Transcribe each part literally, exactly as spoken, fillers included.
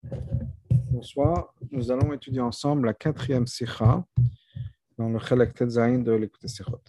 Bonsoir, nous allons étudier ensemble la quatrième sikha dans le Chelek Tetzaïn de l'écoute Sikhot.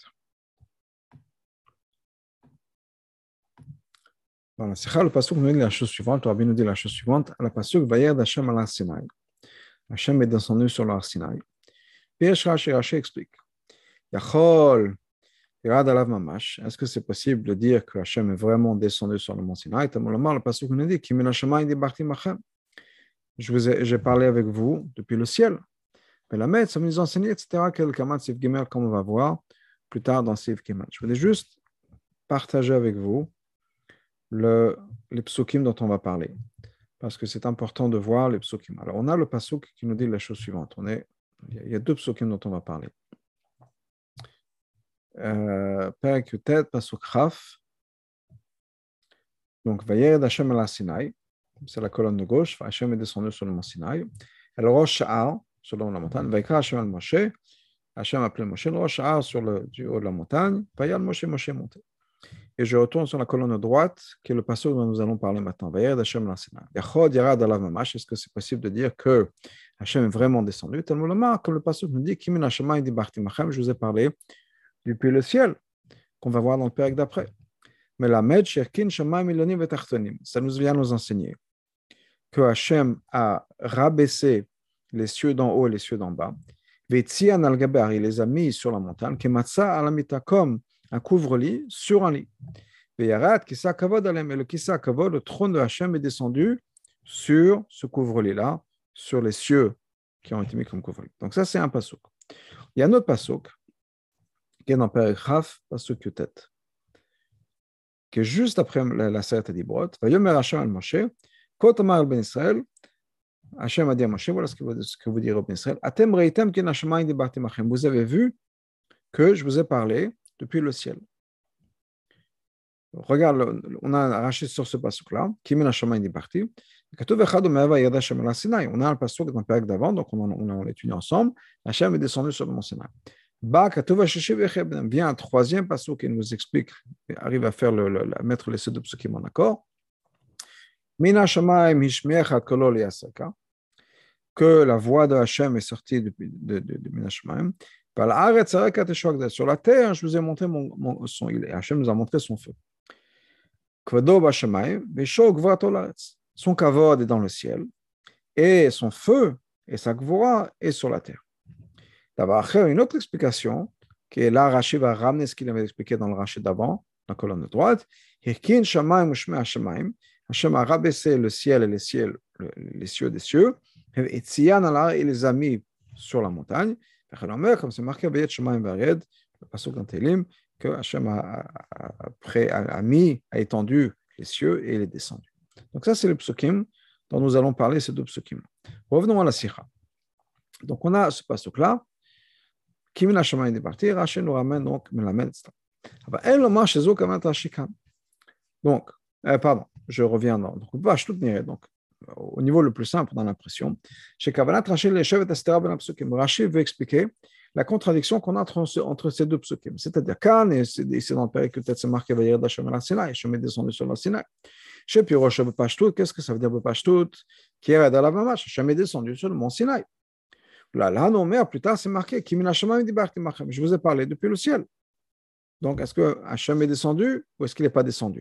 Dans la sikha, le pasuk nous dit la chose suivante, le Rabbi nous dit la chose suivante, la pasuk Vayed Hashem al Sinaï. Hashem est descendu sur le Sinaï. Puis Rashi Rashi explique, Yachol Yirad alav mamash. Est-ce que c'est possible de dire que Hashem est vraiment descendu sur le mont Sinaï? Le pasuk nous dit, Kimin Hashemayim dibarti machem. Je vous ai, j'ai parlé avec vous depuis le ciel. Mais la maître, ça nous enseigne, et cetera, quel kamat Sif Gimel, comme on va voir plus tard dans Sif Gimel. Je voulais juste partager avec vous le, les psukim dont on va parler, parce que c'est important de voir les psukim. Alors, on a le pasuk qui nous dit la chose suivante. On est, il y a deux psukim dont on va parler. Perek Yutet, pasuk Chaf. Donc, Vayered Hashem al Sinaï, c'est la colonne de gauche. Hashem est descendu sur le mont Sinaï. El Rosh Sha'ar, selon la montagne. Vaikra Hashem al Moshe. Hashem a appelé Moshe. Le Rosh Sha'ar sur le du haut de la montagne. Vayal Moshe, Moshe est monté. Et je retourne sur la colonne droite, qui est le passage dont nous allons parler maintenant. Vayered Hashem al Sinaï. Yachod Yarad alav mamash. Est-ce que c'est possible de dire que Hashem est vraiment descendu? Tellement le marque, comme le passage nous dit, Kimin Hashemayim dibarti machem. Je vous ai parlé depuis le ciel, qu'on va voir dans le pérec d'après. Mais la med sherkin shamayim ilonim vetachtonim. Ça nous vient nous enseigner que Hashem a rabaissé les cieux d'en haut et les cieux d'en bas. Vetzian al-gabar, il les a mis sur la montagne. Kematsa alamita, comme un couvre-lit sur un lit. Veyarat kisa kavod alem, et le kisa kavod, le trône de Hashem est descendu sur ce couvre-lit-là, sur les cieux qui ont été mis comme couvre-lit. Donc ça, c'est un pasuk. Il y a un autre pasuk qui est dans Perek Chaf, pasuk Yutet, qui est juste après la, la Seret Dibrot. Vayomer Hashem al Moshe. Quand Amar ben Israël, Hashem a dit à Moshe, voilà ce que vous, ce que vous direz au ben Israël. Atem reitem kin hashamayim dibarti machem. Vous avez vu que je vous ai parlé depuis le ciel. Regarde, on a arraché sur ce pasuk-là, Kimin hashamayim dibarti. Katuv echad u'me'ava yad Hashem al Sinaï. On a un pasuk dans le période d'avant, donc on, on, on l'étudie ensemble. Hashem est descendu sur le mont Sinaï. Ba katuv hashishi v'echeb. Vient un troisième pasuk qui nous explique, arrive à faire le, le, à mettre les deux psukim en accord. Mina Shamayim Hishmecha Kolol Yasaka, que la voix de Hashem est sortie de, de, de, de Mina Shamayim. Sur la terre, je vous ai montré mon, mon son. Hashem nous a montré son feu. Kvado Bashamayim, Vesho Gvato Laretz. Son kavod est dans le ciel, et son feu et sa gvora est sur la terre. D'abord, une autre explication, qui est là, Rashi va ramener ce qu'il avait expliqué dans le Rashi d'avant, la colonne de droite. Hirkin Shamayim Ushme Hashamayim. Hashem a rabaissé le ciel et les cieux, les cieux des cieux, et Tzian Allah, il les a mis sur la montagne. Comme c'est marqué, le pasuk dans Télim, que Hashem a, a, a, a mis, a étendu les cieux et il est descendu. Donc ça, c'est le psukim dont nous allons parler, ces deux psukim. Revenons à la sikha. Donc on a ce pasuk-là, Kimin Hashemayim dibarti, Rashi nous ramène donc, me l'amène, et cetera. Donc, euh, pardon. Je reviens dans donc, donc, au niveau le plus simple dans l'impression. Chez Kavanat, Rashi veut expliquer la contradiction qu'on a entre, entre ces deux psukim. C'est-à-dire, Kan, et c'est dans le période que peut-être c'est marqué Vayered Hashem al Sinaï, Hashem est descendu sur le Sinaï. Chez Pirosh Bepashtout, qu'est-ce que ça veut dire Bepashtout? Qui est à la Mamash, Hashem est descendu sur le mont Sinaï. Là, là, non, mais plus tard, c'est marqué Kimin Hashemayim dibarti machem. Je vous ai parlé depuis le ciel. Donc, est-ce que Hashem est descendu ou est-ce qu'il n'est pas descendu?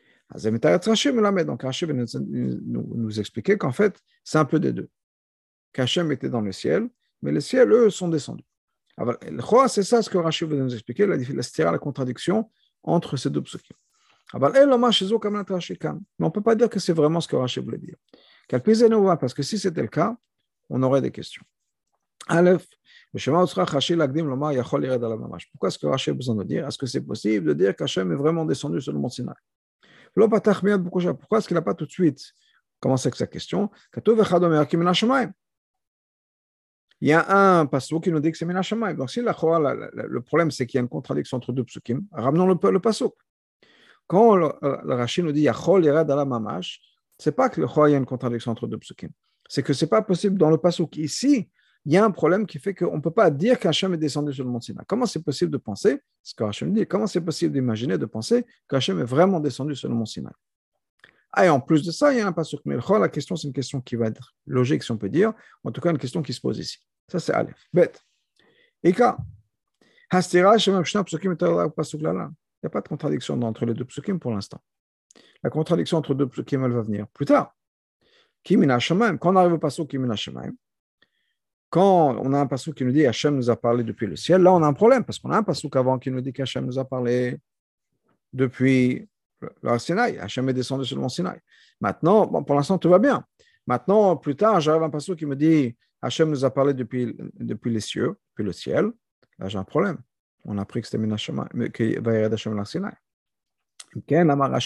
Donc Rashi nous, nous, nous expliquer qu'en fait, c'est un peu des deux. Qu'Hachem était dans le ciel, mais les ciels, eux, sont descendus. Alors, c'est ça ce que Rashi veut nous expliquer, la, la, la contradiction entre ces deux psukim. Mais on ne peut pas dire que c'est vraiment ce que Rashi voulait dire. Parce que si c'était le cas, on aurait des questions. Aleph, pourquoi est-ce que Rashi a besoin de dire? Est-ce que c'est possible de dire qu'Hachem est vraiment descendu sur le mont Sinaï? Pourquoi est-ce qu'il n'a pas tout de suite commencé avec sa question? Il y a un pasuk qui nous dit que c'est Mina Shamayim. Donc, si la, la, la, le problème, c'est qu'il y a une contradiction entre deux psukim, ramenons le, le pasuk. Quand le, le Rashi nous dit Yachol Yerad ala Mamash, ce n'est pas que le il y a une contradiction entre deux psukim. C'est que ce n'est pas possible dans le pasuk. Ici, il y a un problème qui fait qu'on ne peut pas dire qu'Hachem est descendu sur le mont Sinaï. Comment c'est possible de penser, ce que Hachem dit, comment c'est possible d'imaginer, de penser qu'Hachem est vraiment descendu sur le mont Sinaï? Ah, et en plus de ça, il y a un pasuk. Mais la question, c'est une question qui va être logique, si on peut dire. En tout cas, une question qui se pose ici. Ça, c'est Aleph. Bête. Ika. Hastira, Shemam Shna, psukim, pasuk lala. Il n'y a pas de contradiction entre les deux psukim pour l'instant. La contradiction entre deux psukim, elle va venir plus tard. Kimina Shemaim. Quand on arrive au pasuk Kimina Shemaim, quand on a un pasuk qui nous dit Hachem nous a parlé depuis le ciel, là, on a un problème parce qu'on a un pasuk avant qui nous dit qu'Hachem nous a parlé depuis le Sinaï. Hachem est descendu sur le mont Sinaï. Maintenant, bon, pour l'instant, tout va bien. Maintenant, plus tard, j'arrive à un pasuk qui me dit Hachem nous a parlé depuis, depuis les cieux, depuis le ciel. Là, j'ai un problème. On a appris que c'était Minashama, qu'il va y avoir Hachem dans le Sinaï. Dans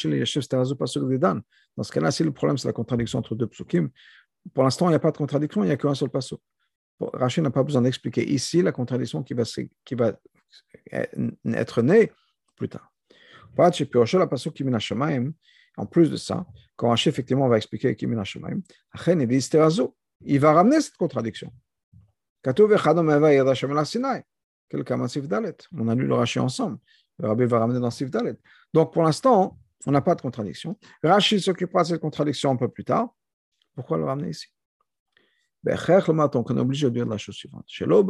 ce cas-là, si le problème, c'est la contradiction entre deux psukim, pour l'instant, il n'y a pas de contradiction, il n'y a qu'un seul pasuk. Rachid n'a pas besoin d'expliquer ici la contradiction qui va, qui va être née plus tard. En plus de ça, quand Rachid effectivement va expliquer Kimina Shemaim, il va ramener cette contradiction. On a lu le Rachid ensemble. Le Rabbi va ramener dans Sif Dalet. Donc pour l'instant, on n'a pas de contradiction. Rachid s'occupera de cette contradiction un peu plus tard. Pourquoi le ramener ici? On est obligé de dire la chose suivante.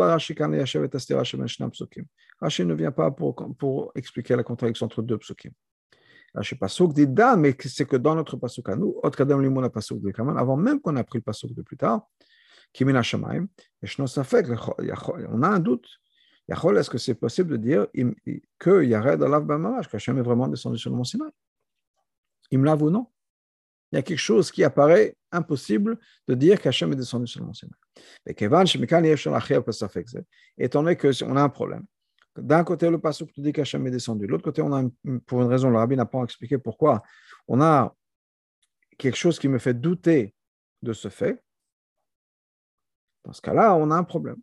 Rachid ne vient pas pour, pour expliquer la contradiction entre deux psukim. Rachid pasuk dit Dan, mais c'est que dans notre pasuk à nous, avant même qu'on a pris le pasuk de plus tard, on a un doute. Est-ce que c'est possible de dire que Yared Alav Bamamash, qu'Hachem est vraiment descendu sur le mont Sinaï? Imlav ou non? Il y a quelque chose qui apparaît impossible de dire qu'Hachem est descendu sur le mont Sinaï. Étant donné qu'on a un problème, d'un côté le pasuk nous dit qu'Hachem est descendu, de l'autre côté, on a une, pour une raison, le Rabbi n'a pas expliqué pourquoi, on a quelque chose qui me fait douter de ce fait. Dans ce cas-là, on a un problème.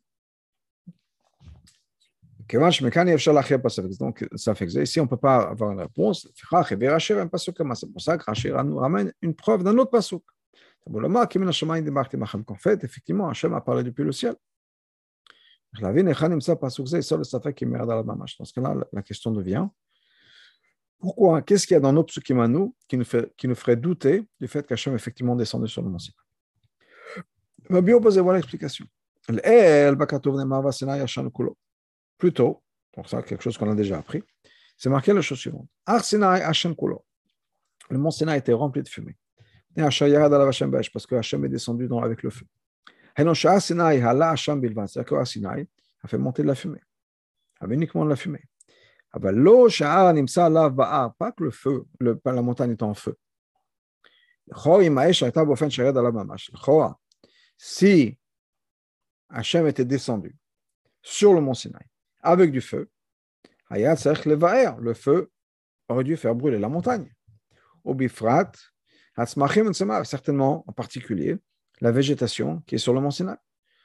Donc, ça fait que ici, on ne peut pas avoir une réponse. C'est pour ça que Rachid nous ramène une preuve d'un autre pasuk. En fait, effectivement, Hachem a parlé depuis le ciel. Dans ce cas-là, la question devient pourquoi, qu'est-ce qu'il y a dans nos psukim à nous qui nous, fait, qui nous ferait douter du fait qu'Hachem est effectivement descendu sur le mont Sinaï? Le Bio pose voilà l'explication. Plutôt, pour ça, quelque chose qu'on a déjà appris, c'est marqué la chose suivante. Le mont Sinaï était rempli de fumée. Parce que Hachem est descendu dans, avec le feu. C'est-à-dire que Sinaï a fait monter de la fumée. Avait uniquement de la fumée. Pas que le feu, le, la montagne est en feu. Si Hachem était descendu sur le mont Sinaï avec du feu, le feu aurait dû faire brûler la montagne. Au bifrat, certainement en particulier la végétation qui est sur le mont Sinaï.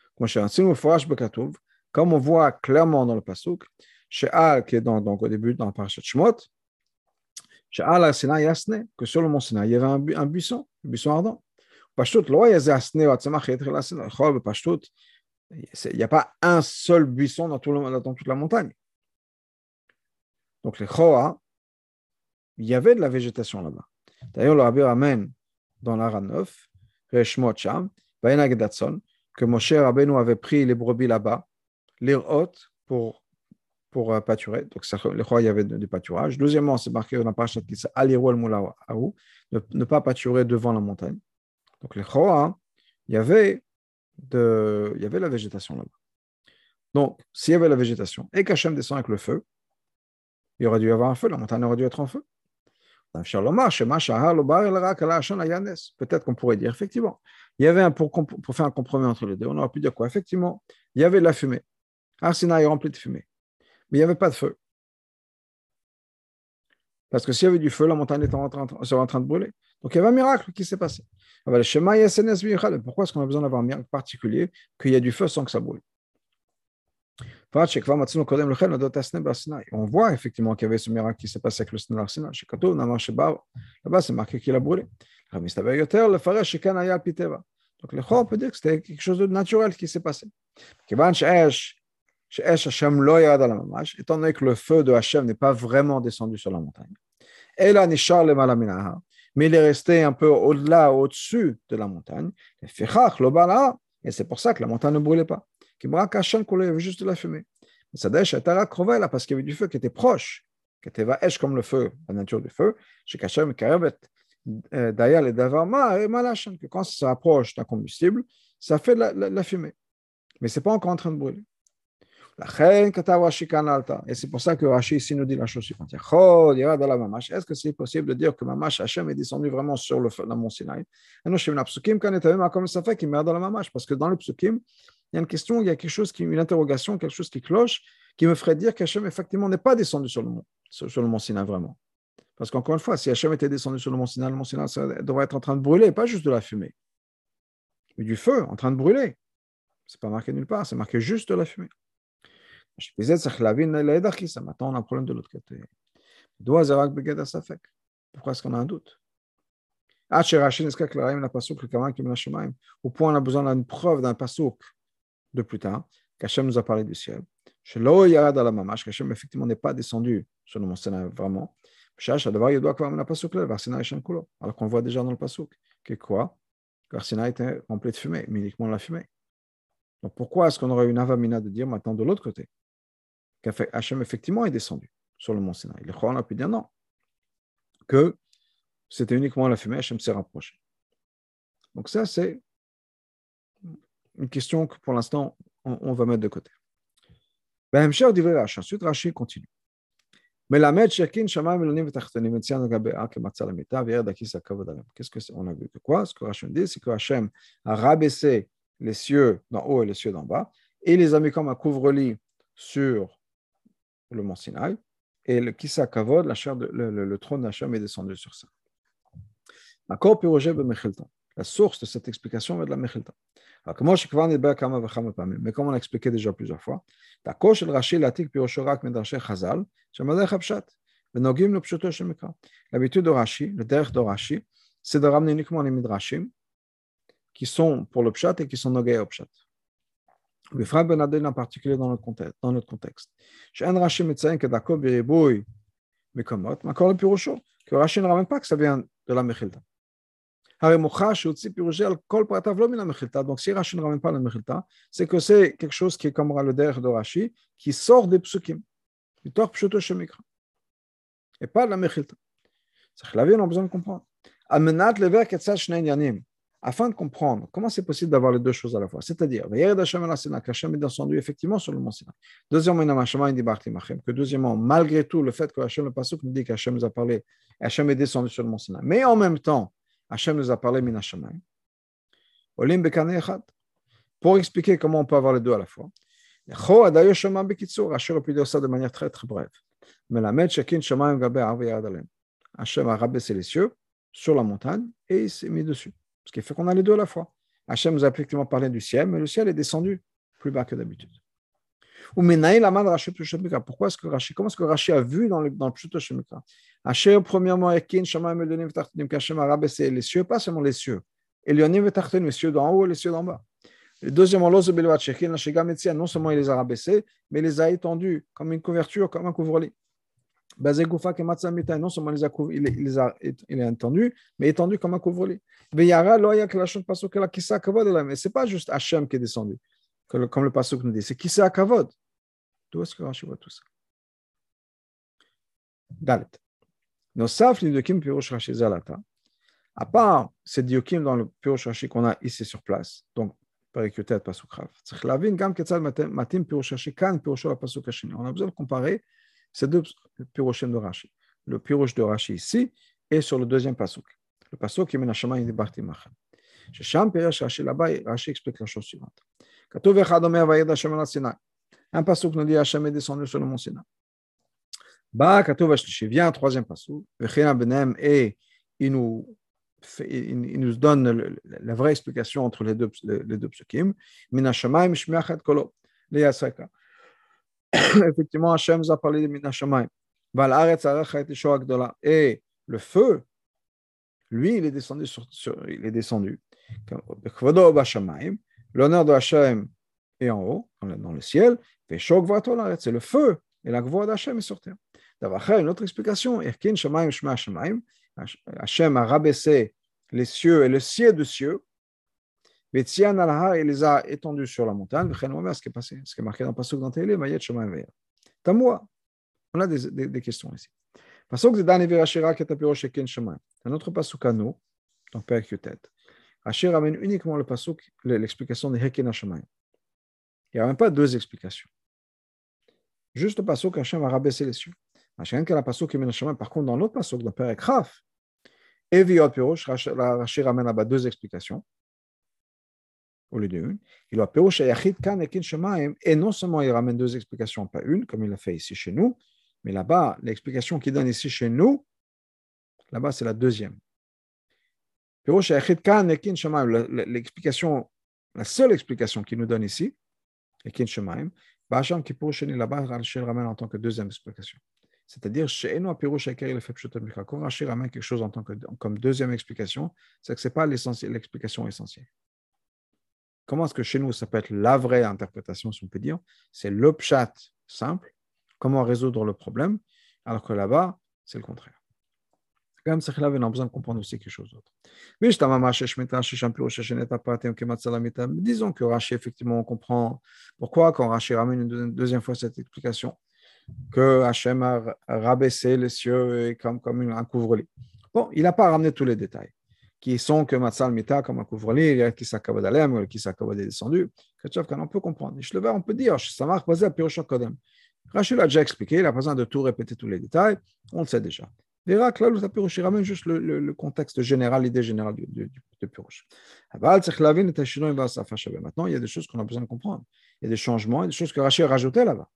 Comme on voit clairement dans le pasuk, She'al, qui est dans, donc au début dans le parashat Shemot, She'al al-Sinaï yasne, que sur le mont Sinaï, il y avait un, bu, un buisson, un buisson ardent. Pashtut, lo yazasne wa tzemach yetri la-Sinaï. Pashtut, il n'y a pas un seul buisson dans, tout le, dans toute la montagne. Donc les Choa, il y avait de la végétation là-bas. D'ailleurs, le Rabbi ramène dans l'Ara neuf, Reshmot Sham, Vayenag Datson, que Moshe Rabbeinu avait pris les brebis là-bas, les hôtes pour, pour uh, pâturer. Donc ça, les Choa, il y avait du pâturage. Deuxièmement, c'est marqué dans la parashat qui s'appelle Alirol Moulaou, ne, ne pas pâturer devant la montagne. Donc les Choa, il y avait de, il y avait la végétation là-bas. Donc, s'il y avait la végétation et qu'Hachem descend avec le feu, il aurait dû y avoir un feu, la montagne aurait dû être en feu. Peut-être qu'on pourrait dire, effectivement, il y avait un, pour, pour faire un compromis entre les deux, on aurait pu dire quoi? Effectivement, il y avait de la fumée. Arsina est rempli de fumée, mais il n'y avait pas de feu. Parce que s'il y avait du feu, la montagne était en train, serait en train de brûler. Donc il y avait un miracle qui s'est passé. Pourquoi est-ce qu'on a besoin d'avoir un miracle particulier qu'il y a du feu sans que ça brûle? On voit effectivement qu'il y avait ce miracle qui s'est passé avec le Sinaï. Là-bas, c'est marqué qu'il a brûlé. Donc, le on peut dire que c'était quelque chose de naturel qui s'est passé. Étant donné que le feu de Hachem n'est pas vraiment descendu sur la montagne. mais il est resté un peu au-delà, au-dessus de la montagne. Et c'est pour ça que la montagne ne brûlait pas. Il y avait juste de la fumée. Parce qu'il y avait du feu qui était proche, qui était vaèche comme le feu, la nature du feu. D'ailleurs, les davarma et malachan, que quand ça se rapproche d'un combustible, ça fait de la, la, la fumée. Mais ce n'est pas encore en train de brûler. Et c'est pour ça que Rashi ici nous dit la chose suivante. Est-ce que c'est possible de dire que Mamash Hachem est descendu vraiment sur le, le mont Sinaï? Parce que dans le psukim, il y a une question, il y a quelque chose, qui, une interrogation, quelque chose qui cloche, qui me ferait dire qu'Hachem effectivement n'est pas descendu sur le mont, sur, sur le mont Sinaï vraiment. Parce qu'encore une fois, si Hachem était descendu sur le mont Sinaï, le mont Sinaï devrait être en train de brûler, pas juste de la fumée, mais du feu en train de brûler. C'est pas marqué nulle part, c'est marqué juste de la fumée. Maintenant, on a un problème de l'autre côté. Pourquoi est-ce qu'on a un doute? Au point on a besoin d'une preuve d'un pasouk de plus tard, qu'Hachem nous a parlé du ciel. Qu'Hachem effectivement n'est pas descendu sur le mont Sinaï vraiment. Alors qu'on voit déjà dans le pasouk que quoi? Que Sinaï était rempli de fumée, mais uniquement la fumée. Donc pourquoi est-ce qu'on aurait une avamina de dire maintenant de l'autre côté qu'Hachem effectivement est descendu sur le mont Sinaï? Le Coran a pu dire non, que c'était uniquement la fumée, Hachem s'est rapproché. Donc ça, c'est une question que pour l'instant, on, on va mettre de côté. Ensuite, Rashi continue. Qu'est-ce qu'on a vu que quoi? Ce que Rashi dit, c'est que Hachem a rabaissé les cieux d'en haut et les cieux d'en bas, et les a mis comme un couvre-lit sur le mont Sinaï, et le Kisa Kavod, la chair de, le, le, le trône d'Hachem est descendu sur ça. La source de cette explication est de la Mechilta. Mais comme on l'a expliqué déjà plusieurs fois, l'habitude de Rashi, le derech de Rashi, c'est de ramener uniquement les midrashim qui sont pour le pshat et qui sont nogay au pshat. Le frère Benadel en particulier dans notre contexte. Dans notre contexte. Chez un Rashi médecin que d'accord biriboui mekomot, mais encore le pirosho, que Rashi ne ramène pas que ça vient de la Mechilta. Donc, si Rashi ne ramène pas la Mechilta, c'est que c'est quelque chose qui est comme le derech de Rashi, qui sort des psukim, du tor pshuto shemikra, et pas de la Mechilta. C'est que la vie, on a besoin de comprendre. Afin de comprendre comment c'est possible d'avoir les deux choses à la fois, c'est-à-dire qu'Hachem est descendu effectivement sur le mont Sinaï. Deuxièmement, que deuxièmement, malgré tout, le fait que Hachem, le pasuk nous dit qu'Hachem nous a parlé, Hachem est descendu sur le mont Sinaï, mais en même temps, Hachem nous a parlé min Hashamayim. Olim bekane echad. Pour expliquer comment on peut avoir les deux à la fois. Hachem aurait pu dire ça de manière très très brève. Mais la met shekin shamayim gabe arve yad alem. Hachem a rabaissé les cieux sur la montagne et il s'est mis dessus. Ce qui fait qu'on a les deux à la fois. Hachem nous a effectivement parlé du ciel, mais le ciel est descendu plus bas que d'habitude. Pourquoi est-ce que Rashi, comment est-ce que Rashi a vu dans le, dans le Pshuto Shemikra? Hachem, premièrement, Hachem a rabaissé les cieux, pas seulement les cieux. Et les cieux d'en haut et les cieux d'en bas. Et deuxièmement, non seulement il les a rabaissés, mais il les a étendus comme une couverture, comme un couvre-lit. Non seulement il les a, il les a, il a étendu, mais étendu comme un couvre-lit. Mais c'est pas juste Hachem qui est descendu, comme le pasuk nous dit, c'est Kisa Kavod. D'où est-ce que Rashi voit tout ça? Dalet. Nosaf li diokim pirush Rashi zalata. À part ces diokim dans le pirush Rashi qu'on a ici sur place, donc Perikutet pasuk Rav. Tzich lavin gam ketzad matim pirush Rashi kan pirush la pasuk hashini. On a besoin de comparer ces deux pirushim de Rashi. Le pirush de Rashi ici et sur le deuxième pasuk. Le pasuk qui mène à Shamayim dibarti machem. Shesham pirush Rashi là-bas, Rashi explique la chose suivante. Katuv echad omer vayed Hashem al Sinai. Un pasuk nous dit Hachem est descendu sur le mont Sinaï. Ba katuv hashlishi, vient un troisième pasuk. Vechina benem, et il nous il, il nous donne le, la vraie explication entre les deux les deux psukim. Min hashamayim shmiachat kolo leyasreka. Effectivement, Hachem nous a parlé de min hashamayim. Val aretz aracha et shoah gdola. Et le feu, lui, il est descendu sur, sur il est descendu. Kvodo bashamayim. L'honneur de Hachem est en haut, dans le ciel, c'est le feu, et la gvoa d'Hachem est sur terre. D'avoir une autre explication, Hachem a rabaissé les cieux et le ciel de cieux, Betzian al-Har, il les a étendus sur la montagne, ce qui est passé, ce qui est marqué dans le pasuk dans Tehillim, Mayet Shemaim Ve'er. Tamoua. On a des, des, des questions ici. Pasuk Zedan Evi Rashira Ketapiro Sheken Shemaim. Un autre pasuk à nous, dans Perek Yutet. Rashi ramène uniquement le pasuk, l'explication de Heken Shemaim. Il n'y a même pas deux explications. Juste le pasuk, Hachem a rabaissé les cieux. Hachem, la pasuk Heken Shemaim. Par contre, dans l'autre pasuk, dans Perek Chaf, Evi Yot Pirosh, Rashi ramène là-bas deux explications. Au lieu d'une, il a Pirosh Yachid Kan Heken Shemaim, et non seulement il ramène deux explications, pas une, comme il l'a fait ici chez nous, mais là-bas, l'explication qu'il donne ici chez nous, là-bas, c'est la deuxième. Pirosh Yachid Kan Heken Shemaim, l'explication, la seule explication qu'il nous donne ici, Heken Shemaim, Bacham qui Pirosh là-bas, Rashi ramène en tant que deuxième explication. C'est-à-dire, chez nous, Pirosh Yachid, il fait Pshutot Mikra. Quand Rashi ramène quelque chose en tant que, comme deuxième explication, c'est que ce n'est pas l'explication essentielle. Comment est-ce que chez nous, ça peut être la vraie interprétation, si on peut dire? C'est le pshat simple, comment résoudre le problème, alors que là-bas, c'est le contraire. Quand même, c'est là on a besoin de comprendre aussi quelque chose d'autre. Disons que Rashi, effectivement, on comprend pourquoi, quand Rashi ramène une deuxième fois cette explication, que Hachem a rabaissé les cieux et comme, comme un couvre-lit. Bon, il n'a pas ramené tous les détails, qui sont que Matzal Mita comme un couvre-lit, qui s'accabade alem, qui s'accabade descendu. On peut comprendre. On peut dire, ça marche basé à Pirosh Kodem. Rachel a déjà expliqué, il n'a pas besoin de tout répéter tous les détails, on le sait déjà. Verra que là, le Pirosh, il ramène juste le, le, le contexte général, l'idée générale du, du, du Pirosh. Maintenant, il y a des choses qu'on a besoin de comprendre. Il y a des changements, il y a des choses que Rachel a rajoutées là-bas.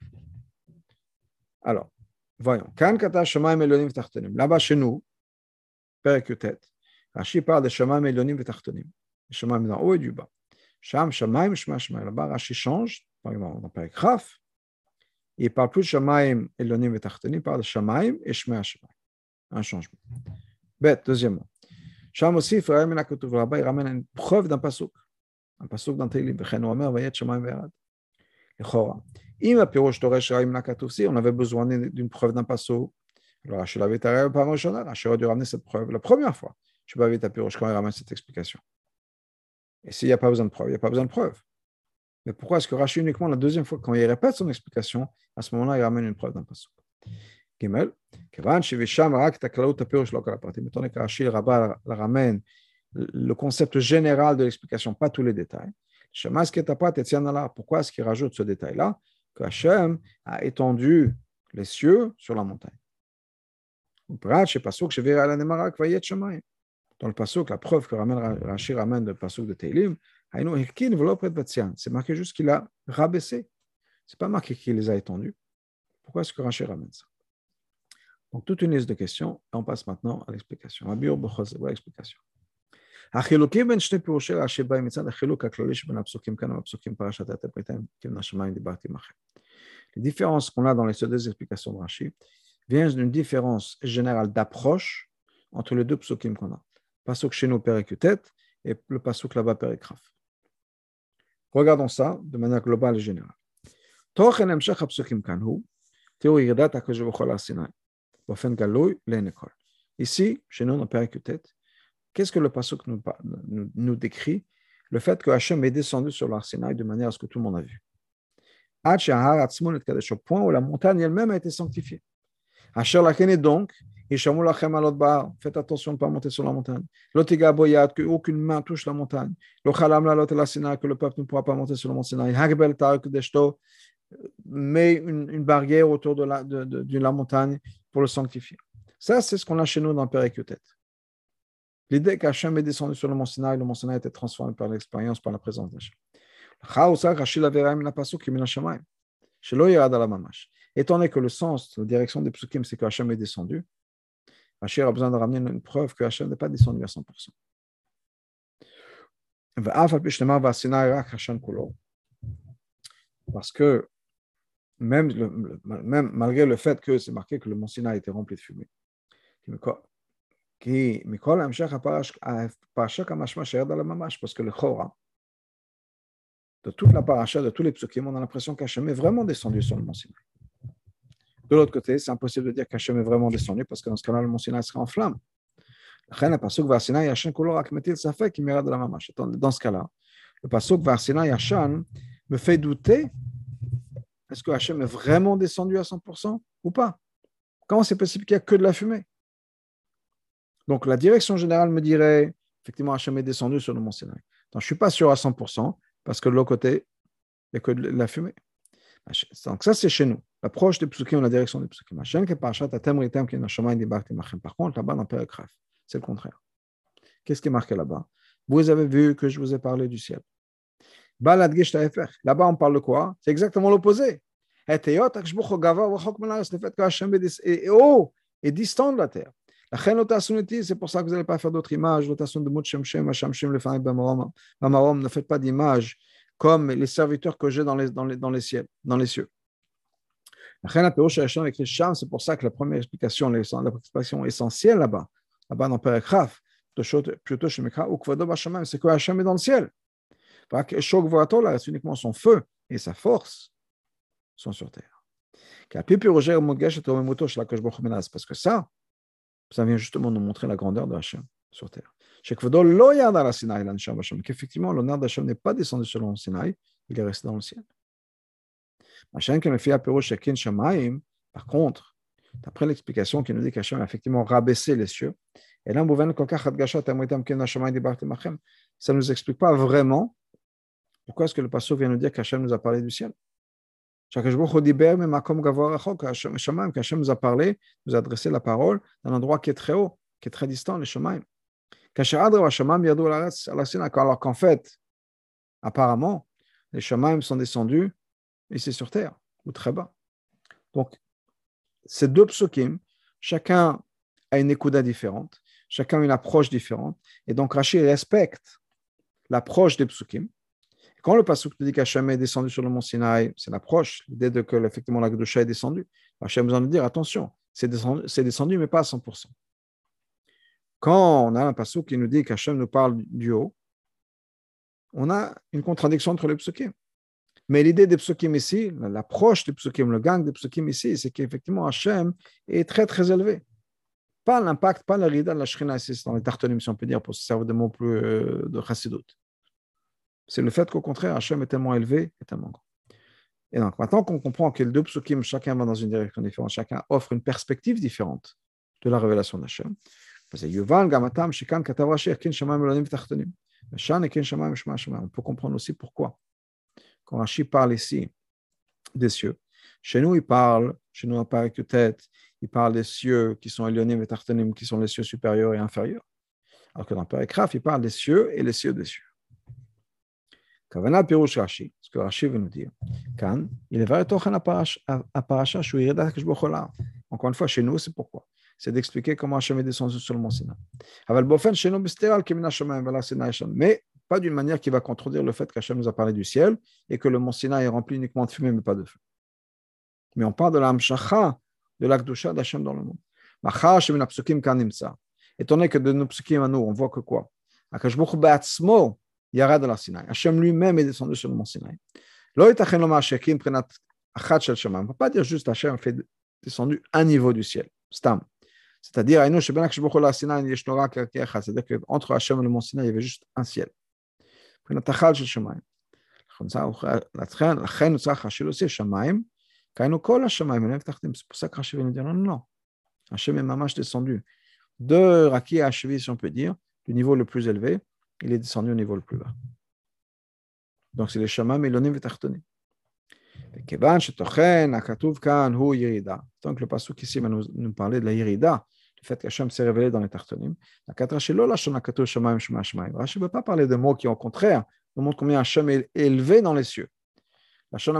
Alors, voyons. Là-bas, chez nous, Perek Yutet, Rashi parle de Shamaim Elonim et Tartonim. Shamaim d'en haut et du bas. Sham, Shamaim, Shema, Shemaim. Là-bas, Rashi change, par exemple, dans Perek Chaf, il ne parle plus de Shamaim Elonim et Tartonim, il parle de Shamaim et Shema, Shemaim. Un changement. Bête, deuxièmement. Sham aussi, Frère Menakotuv, là-bas, il ramène une preuve d'un pasuk. Un pasuk dans Tehillim. Vechenu Omer, Vayet Shamaim Ve'erad. Echora. Im Pirosh Toresh Raim Nakatuf, si on avait besoin d'une preuve d'un pasuk, alors Rashi l'avait taré par Moshana, Rashi aurait dû ramener cette preuve la première fois. Je ne sais pas Pirosh quand il ramène cette explication. Et s'il n'y a pas besoin de preuve, il n'y a pas besoin de preuve. Mais pourquoi est-ce que Rashi uniquement la deuxième fois, quand il répète son explication, à ce moment-là, il ramène une preuve d'un pasuk? Gimel, Kevan Shivisham Rak Taklaut Pirosh Lokal Parti. Mettons que Rashi la ramène le concept général de l'explication, pas tous les détails. Shemas Ketapat Etzianala. Pourquoi est-ce qu'il rajoute ce détail-là? Que Hachem a étendu les cieux sur la montagne. Dans le pasuk, la preuve que Rashi ramène de pasuk de Tehillim, c'est marqué juste qu'il a rabaissé. Ce n'est pas marqué qu'il les a étendus. Pourquoi est-ce que Rashi ramène ça? Donc, toute une liste de questions, et on passe maintenant à l'explication. À l'explication. Les différences qu'on a dans les deux explications de Rashi viennent d'une différence générale d'approche entre les deux psukim qu'on a. Pasuk chez nous, Perek Yutet, et le pasuk là-bas, Perek Chaf. Regardons ça de manière globale et générale. Tochen hemshech hapsukim kanhu, théo yirdat HaKadosh Baruch Hu al Sinai, bofen galoy le'nekol. Ici, chez nous, dans Perek Yutet, qu'est-ce que le pasuk nous, nous, nous décrit? Le fait que Hachem est descendu sur l'Ar Sinaï de manière à ce que tout le monde a vu. Au point où la montagne elle-même a été sanctifiée. Asher lachene donc, Ishamu lachem alot ba'ar. Faites attention de ne pas monter sur la montagne. Lotiga boyad, qu'aucune main touche la montagne. Lo chalam la lot la Sinaï, que le peuple ne pourra pas monter sur le mont Sinaï. Hagbel ta'ak deshto, met une, une barrière autour de la, de, de, de la montagne pour le sanctifier. Ça, c'est ce qu'on a chez nous dans Perek Yutet. L'idée qu'Hachem est descendu sur le mont Sinaï, le mont Sinaï a été transformé par l'expérience, par la présence d'Hachem. Étant donné que le sens, la direction des psukim, c'est que Hachem est descendu, Hachem a besoin de ramener une preuve que Hachem n'est pas descendu à cent pour cent. Parce que même, le, même malgré le fait que c'est marqué que le mont Sinaï était rempli de fumée, parce que le Chora, de toute la paracha, de tous les psukim, on a l'impression qu'Hachem est vraiment descendu sur le mont Sinaï. De l'autre côté, c'est impossible de dire qu'Hachem est vraiment descendu parce que dans ce cas-là, le mont Sinaï serait en flammes. Dans ce cas-là, le pasuk Varsina Yashan me fait douter, est-ce que Hachem est vraiment descendu à cent pour cent ou pas? Comment c'est possible qu'il n'y a que de la fumée? Donc la direction générale me dirait, effectivement, Hachem est descendu sur le mont Sinaï. Donc je ne suis pas sûr à cent pour cent parce que de l'autre côté, il n'y a que de la fumée. Donc ça, c'est chez nous. L'approche des psukim, la direction des psukim. Par contre, là-bas, dans Perek Raf, c'est le contraire. Qu'est-ce qui est marqué là-bas? Vous avez vu que je vous ai parlé du ciel. Là-bas, on parle de quoi? C'est exactement l'opposé. Le fait que Hachem est haut et distant de la terre. C'est pour ça que vous n'allez pas faire d'autres images. Ne faites pas d'images comme les serviteurs que j'ai dans les, dans les, dans les, ciels, dans les cieux. C'est pour ça que la première explication, l'explication essentielle là-bas, là-bas dans Perek Raf, plutôt chez Mikra, c'est que Hachem est dans le ciel. C'est uniquement son feu et sa force sont sur terre. Parce que ça, ça vient justement nous montrer la grandeur de Hachem sur terre. Qu'effectivement, l'honneur d'Hachem n'est pas descendu sur le Sinaï, il est resté dans le ciel. Par contre, d'après l'explication qui nous dit qu'Hachem a effectivement rabaissé les cieux, et là, ça ne nous explique pas vraiment pourquoi est-ce que le pasteur vient nous dire qu'Hachem nous a parlé du ciel. Qu'Hachem nous a parlé, nous a adressé la parole dans un endroit qui est très haut, qui est très distant, les Shemaim. Alors qu'en fait, apparemment, les Shemaim sont descendus ici sur terre, ou très bas. Donc, ces deux psukim, chacun a une ékouda différente, chacun a une approche différente, et donc Rashi respecte l'approche des psukim. Quand le pasuk dit qu'Hachem est descendu sur le mont Sinaï, c'est l'approche, l'idée de que effectivement la Kedusha est descendue. Hachem besoin de dire attention, c'est descendu, c'est descendu, mais pas à cent pour cent. Quand on a un pasuk qui nous dit qu'Hachem nous parle du haut, on a une contradiction entre les psukim. Mais l'idée des psukim ici, l'approche des psukim, le gang des psukim ici, c'est qu'effectivement Hachem est très très élevé. Pas l'impact, pas la rida de la shrina ici, dans les tartonim, si on peut dire, pour se servir de mots plus euh, de chassidut. C'est le fait qu'au contraire, Hachem est tellement élevé et tellement grand. Et donc, maintenant qu'on comprend que les deux psukim, chacun va dans une direction différente, chacun offre une perspective différente de la révélation d'Hachem. On peut comprendre aussi pourquoi. Quand Rashi parle ici des cieux, chez nous, il parle, chez nous, on parle avec tête, il parle des cieux qui sont Elyonim et Tartanim, qui sont les cieux supérieurs et inférieurs. Alors que dans Perek Raf, il parle des cieux et les cieux des cieux. Kavana Pirush Rashi, ce que Rashi veut nous dire, Kan, il est vrai à Parasha, encore une fois, chez nous, c'est pourquoi. C'est d'expliquer comment Hachem est descendu sur le mont Sinaï. Mais pas d'une manière qui va contredire le fait qu'Hachem nous a parlé du ciel et que le mont Sinaï est rempli uniquement de fumée, mais pas de feu. Mais on parle de la Hamshacha, de la Kedusha d'Hachem dans le monde. Étant donné que de nos psukim à nous, on voit que quoi? Hachem lui-même est descendu sur le mont Sinaï. On ne peut pas dire juste Hachem fait descendu un niveau du ciel. Stam. C'est-à-dire, c'est-à-dire qu'entre Hachem et le mont Sinaï, il y avait juste un ciel. C'est pour ça que Hachem vient nous dire non, non, non. Hachem est mamash descendu de Raki à Hachevi, si on peut dire, du niveau le plus élevé, il est descendu au niveau le plus bas. Donc c'est les Shamaim et l'Onim et Tartonim. Donc le pasuk ici va nous, nous parler de la Yirida, le fait qu'Hachem s'est révélé dans les Tartonim. Rashi ne veut pas parler de mots qui, au contraire, nous montrent combien Hachem est élevé dans les cieux. Là, il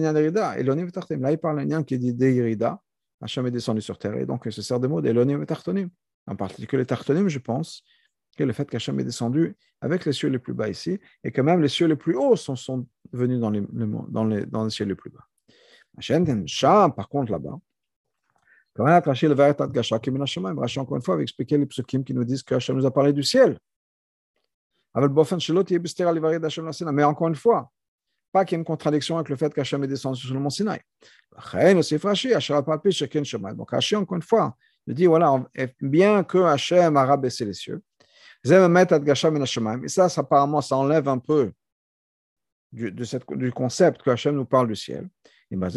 parle d'un qui dit de Yirida, Hachem est descendu sur terre, et donc il se sert des mots d'Elonim et Tartonim. En particulier les Tartonim, je pense, que le fait qu'Hachem est descendu avec les cieux les plus bas ici, et que même les cieux les plus hauts sont, sont venus dans les, dans, les, dans les cieux les plus bas. Par contre, là-bas, Rashi, encore une fois, avait expliqué les psukim qui nous disent que Hachem nous a parlé du ciel. Mais encore une fois, pas qu'il y ait une contradiction avec le fait qu'Hachem est descendu sur le mont Sinaï. Donc Rashi, encore une fois, de dire, voilà, bien que Hachem a rabaissé les cieux, et ça, ça, apparemment, ça enlève un peu du, de cette, du concept que Hachem nous parle du ciel. Mais,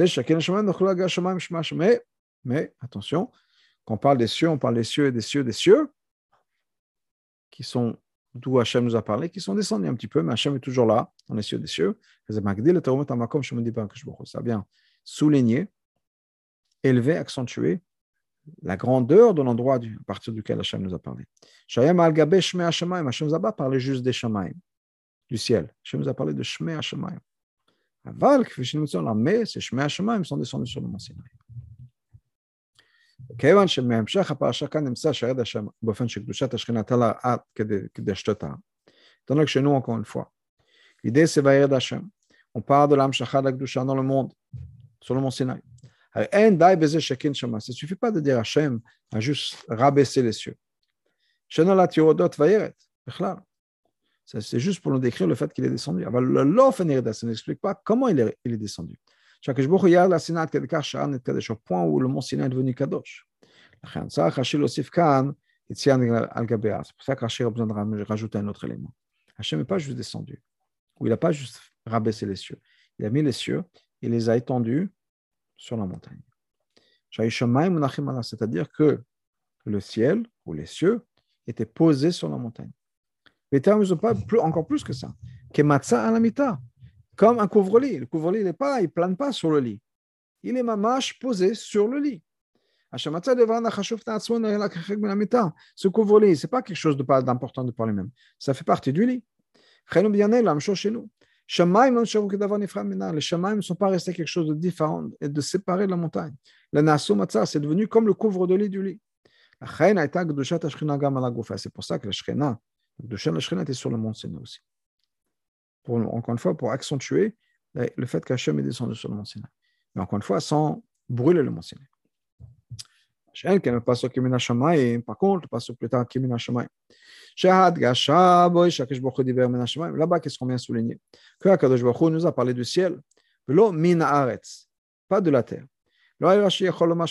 mais attention, quand on parle des cieux, on parle des cieux et des cieux des cieux, qui sont d'où Hachem nous a parlé, qui sont descendus un petit peu, mais Hachem est toujours là, dans les cieux des cieux. Ça vient souligner, élever, accentuer la grandeur de l'endroit du, à partir duquel Hachem nous a parlé. Hachem nous a pas parlé juste des Shamaim, du ciel. Hachem nous a parlé de Shmei Hashemaim. Aval, mais ces Shmei Hashemaim sont descendus sur le mont Sinaï. כיוון שמהמשך הפרשה כאן נמצא שירד השם באופן שקדושת השכינה נתן לה עד כדי קדשתה. Donc chez nous encore une fois. L'idée c'est וירד השם. On parle de l'amshachat de la kedusha dans le monde, sur le mont Sinaï. אין די בזה שכין שמה. Ça ne suffit pas de dire Hachem a juste rabaissé les cieux. שנולד יורדות וירד, בכלל. C'est juste pour nous décrire le fait qu'il est descendu. אבל לא אופן ירידה, ça n'explique pas comment il est, il est descendu. שהקדוש ברוך הוא ירד לסיני עד כדי כך שהר נתקדש, au point où le mont Sinaï est devenu קדוש. לכן צריך רש"י להוסיף כאן יציאה על גביה. C'est pour ça que Rachid a besoin de rajouter un autre élément. Hachem n'est pas juste descendu, ou il n'a pas juste rabaissé les cieux. Il a mis les cieux, il les a étendus sur la montagne. C'est-à-dire que le ciel ou les cieux étaient posés sur la montagne. Les termes ne sont pas plus, encore plus que ça. Kematsa alamita, comme un couvre-lit. Le couvre-lit, il ne plane pas sur le lit. Il est mamash posé sur le lit. Ce couvre-lit, ce n'est pas quelque chose d'important de par lui-même. Ça fait partie du lit. Chez nous. Les Shamaim ne sont pas restés quelque chose de différent et de séparé de la montagne. Le Nasu Matzah, c'est devenu comme le couvre-lit du lit. C'est pour ça que la Shekhinah, la Shekhinah était sur le mont Sinaï aussi. Pour, encore une fois, pour accentuer le fait qu'Hachem est descendu sur le mont Sinaï. Mais encore une fois, sans brûler le mont Sinaï. Par contre, le passage plus tard, Kimin Hashamayim. Là-bas, qu'est-ce qu'on vient souligner? Que Akadosh Baruch Hu nous a parlé du ciel, pas de la terre. Rashi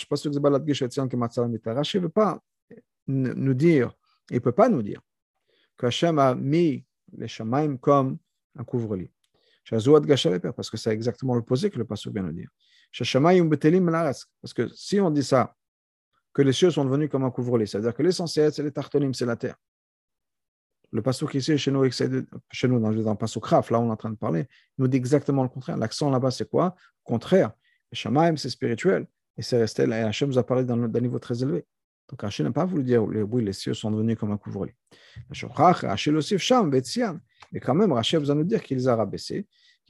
ne veut pas nous dire, il ne peut pas nous dire que Hachem a mis les Shamaim comme un couvre-lit. Parce que c'est exactement l'opposé que le passage vient de dire. Parce que si on dit ça, que les cieux sont devenus comme un couvre-lit, c'est-à-dire que l'essentiel, c'est les tartonim, c'est la terre. Le passouk ici, chez nous, chez nous dans, dans le passouk Raf, là on est en train de parler, il nous dit exactement le contraire. L'accent là-bas, c'est quoi? Au contraire, le Shamaim, c'est spirituel, et c'est resté là, et Hachem nous a parlé d'un niveau très élevé. Donc Hachem n'a pas voulu dire, oui, les cieux sont devenus comme un couvre-lit. Hachem aussi, Sham, Betsian, mais quand même, Hachem vous a nous dire qu'il les a rabaissés.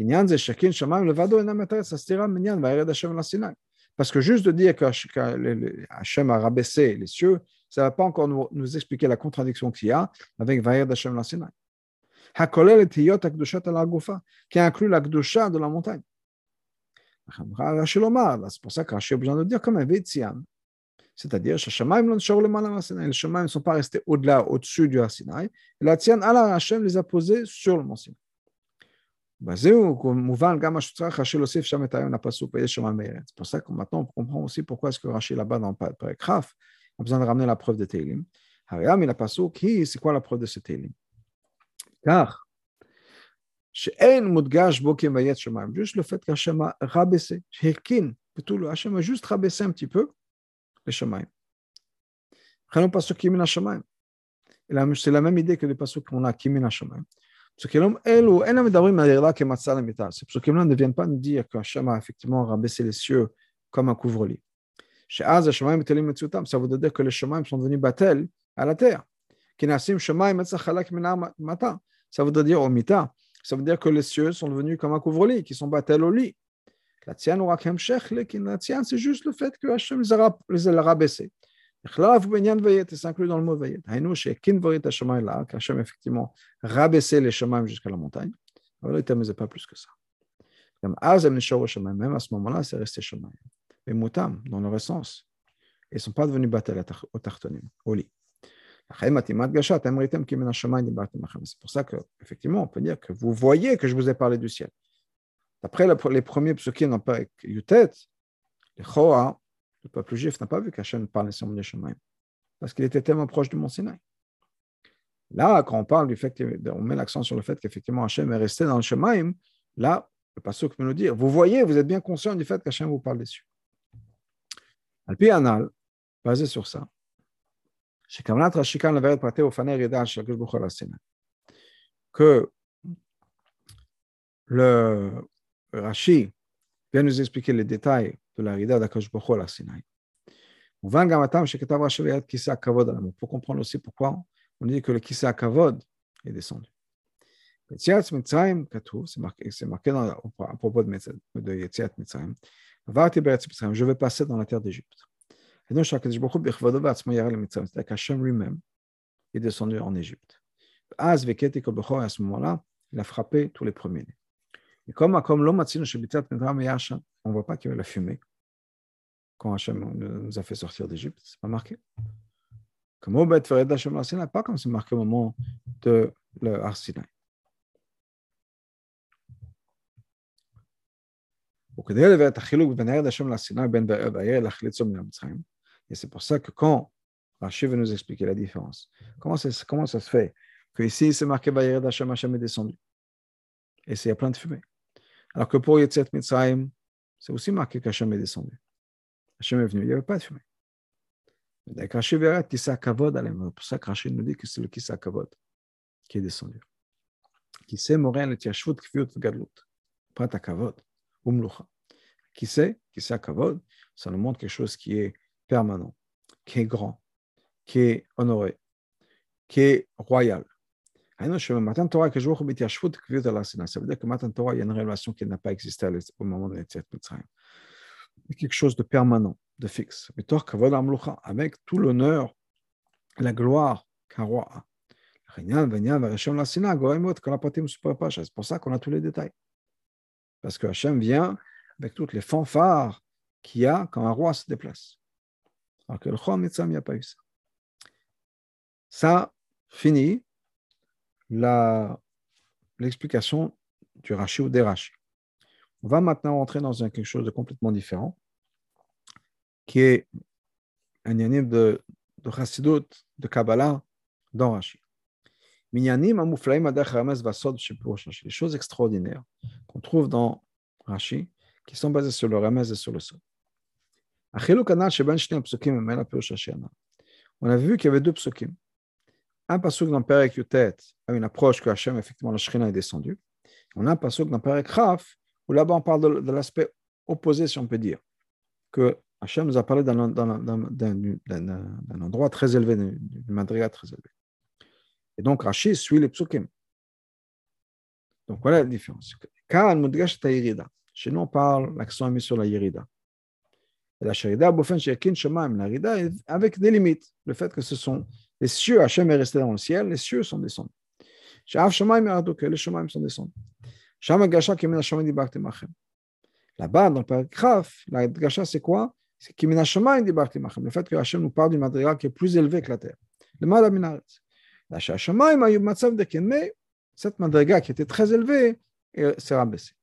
Parce que juste de dire que Hachem a rabaissé les cieux, ça ne va pas encore nous, nous expliquer la contradiction qu'il y a avec Vayed Hashem la Sinaï. Hakolel et Tiyot Akdushat al Agufa, qui inclut la Kdusha de la montagne. C'est pour ça que Rashi a besoin de dire comme un Vétian. C'est-à-dire, les Shamaim ne sont pas restés au-delà, au-dessus du Sinaï, et la Tian Allah Hachem les a posés sur le mont Sinaï. C'est pour ça que maintenant on comprend aussi pourquoi est-ce que Rashi là-bas dans le Perek Raf a besoin de ramener la preuve de Teilim. C'est quoi la preuve de ce Teilim? Car juste le fait qu'Hachem a rabaissé, Hachem a juste rabaissé un petit peu les Shamaim. C'est la même idée que les passuks qu'on a Kimin Hashamayim. Ces psukim-là ne viennent pas nous dire qu'Hachem a effectivement rabaissé les cieux comme un couvre-lit. Ça veut dire que les Shamaim sont devenus batel à la terre. Ça veut dire au mita. Ça veut dire que les cieux sont devenus comme un couvre-lit, qui sont batel au lit. La tienne, c'est juste le fait que Hachem les a rabaissés. C'est inclus dans le mot Vayet. Hachem effectivement rabaissé les Shamaim jusqu'à la montagne. Alors, il ne pas plus que ça. Même à ce moment-là, c'est resté Shamaim. Mais Moutam, dans leur essence, ils ne sont pas devenus batel au tartonim, au lit. C'est pour ça qu'effectivement, on peut dire que vous voyez que je vous ai parlé du ciel. D'après les premiers psukim dans Perek Yutet, les Choa, Le peuple juif n'a pas vu qu'Hachem parlait sur le Shemaim, parce qu'il était tellement proche du mont Sinaï. Là, quand on parle du fait qu'on met l'accent sur le fait qu'effectivement Hachem est resté dans le Shemaim, là, le pasuk peut nous dire, vous voyez, vous êtes bien conscient du fait qu'Hachem vous parle dessus. Al-Pi Anal, basé sur ça, que le Rashi vient nous expliquer les détails de la rida d'Akadosh Baruch Hu à la Sinaï. Pour comprendre aussi pourquoi on dit que le Kisa Kavod est descendu. C'est marqué, c'est marqué dans, à propos de, de Yetziat Mitzrayim. Je vais passer dans la terre d'Égypte. Et donc, c'est-à-dire qu'Hachem lui-même est descendu en Égypte. À ce moment-là, il a frappé tous les premiers-nés. Et comme, comme l'homme on ne voit pas qu'il y avait la fumée quand Hachem nous a fait sortir d'Égypte, ce n'est pas marqué. Comme au Bet Vered Hachem la Sinaï, pas comme c'est marqué au moment de le Har Sinaï. Et c'est pour ça que quand Rashi veut nous expliquer la différence, comment ça, comment ça se fait que ici c'est marqué Vayered Hachem, Hachem est descendu, et il y a plein de fumée. Alors que pour Yetziat Mitzrayim, c'est aussi marqué qu'Hachem est descendu. Hachem est venu, il n'y avait pas de fumée. Donc Rashi verra Kisa Kavod, c'est pour ça que Rashi nous dit que c'est le Kisa Kavod qui est descendu. Qui sait Moren le Tiashvut Kviut Gadlut, Prat Kavod, Umlucha. Qui sait, qui sait Kavod, ça nous montre quelque chose qui est permanent, qui est grand, qui est honoré, qui est royal. Ça veut dire que Matan Torah, il y a une relation qui n'a pas existé au moment de l'Etziat Mitzrayim. Quelque chose de permanent, de fixe. Avec tout l'honneur, la gloire qu'un roi a. C'est pour ça qu'on a tous les détails. Parce que Hachem vient avec toutes les fanfares qu'il y a quand un roi se déplace. Alors que le Chol Mitzam, il n'y a pas eu ça. Ça finit la, l'explication du Rashi ou des Rashi. On va maintenant rentrer dans un, quelque chose de complètement différent, qui est un yanim de, de Chassidut, de Kabbalah, dans Rashi. Les choses extraordinaires qu'on trouve dans Rashi, qui sont basées sur le Ramez et sur le Sod. On a vu qu'il y avait deux psukim. Un pasuk dans Perek Yutet a une approche que Hachem, effectivement, la Shekhinah est descendue. On a un pasuk dans Perek Chaf, où là-bas on parle de, de l'aspect opposé, si on peut dire, que Hachem nous a parlé d'un, d'un, d'un, d'un, d'un, d'un endroit très élevé, d'une madriga très élevée. Et donc Rashi suit les psukim. Donc voilà la différence. Chez nous, on parle, l'accent est mis sur la Yerida. Et la Sherida, la Yerida avec des limites. Le fait que ce sont les cieux, Hachem est resté dans le ciel, les cieux sont descendus. Les Shemaim sont descendus. Là-bas, dans le paragraphe, la Gasha, c'est quoi? C'est Kimina Shemaim Dibarti Machem. Le fait que Hachem nous parle d'une madriga qui est plus élevée que la terre. Le Mada Minaretz. La Shemaim a eu Matzav de Ken, mais cette madriga qui était très élevée s'est rabaissée.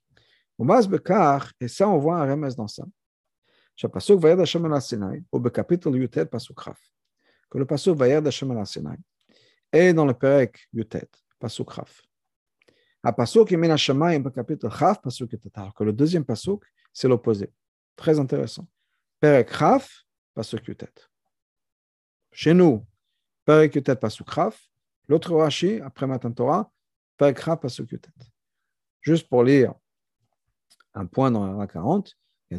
Et ça, on voit un remède dans ça. Pasuk Vayed Hashem al Sinai, au chapitre Yutet Pasuk Chaf, que le Pasuk Vayed Hashem al Sinai est dans le Perek Yutet Pasuk Chaf. À Pasuk Yemin Hashemayim, au chapitre Chaf Pasuk Yutet, alors que le deuxième Pasuk c'est l'opposé. Très intéressant. Perek Chaf Pasuk Yutet. Chez nous, Perek Yutet Pasuk Chaf. L'autre Rashi après Matan Torah, Perek Chaf Pasuk Yutet. Juste pour lire un point dans la quarante. On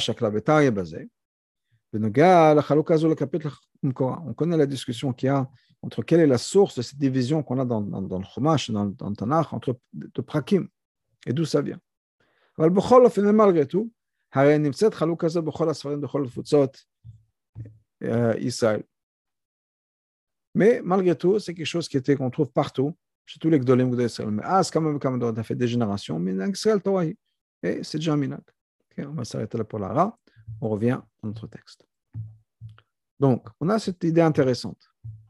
connaît la discussion qu'il y a entre quelle est la source de cette division qu'on a dans, dans, dans le Chumash, dans, dans le Tanakh, entre de Prakim, et d'où ça vient. Malgré tout, Israël. Mais malgré tout, c'est quelque chose qui était, qu'on trouve partout, chez tous les Gdolim d'Israël. Mais ah, c'est quand même, quand même, on a fait des générations, mais Israël, Torah, et c'est déjà un minag. Okay, on va s'arrêter là pour la Ra. On revient à notre texte. Donc, on a cette idée intéressante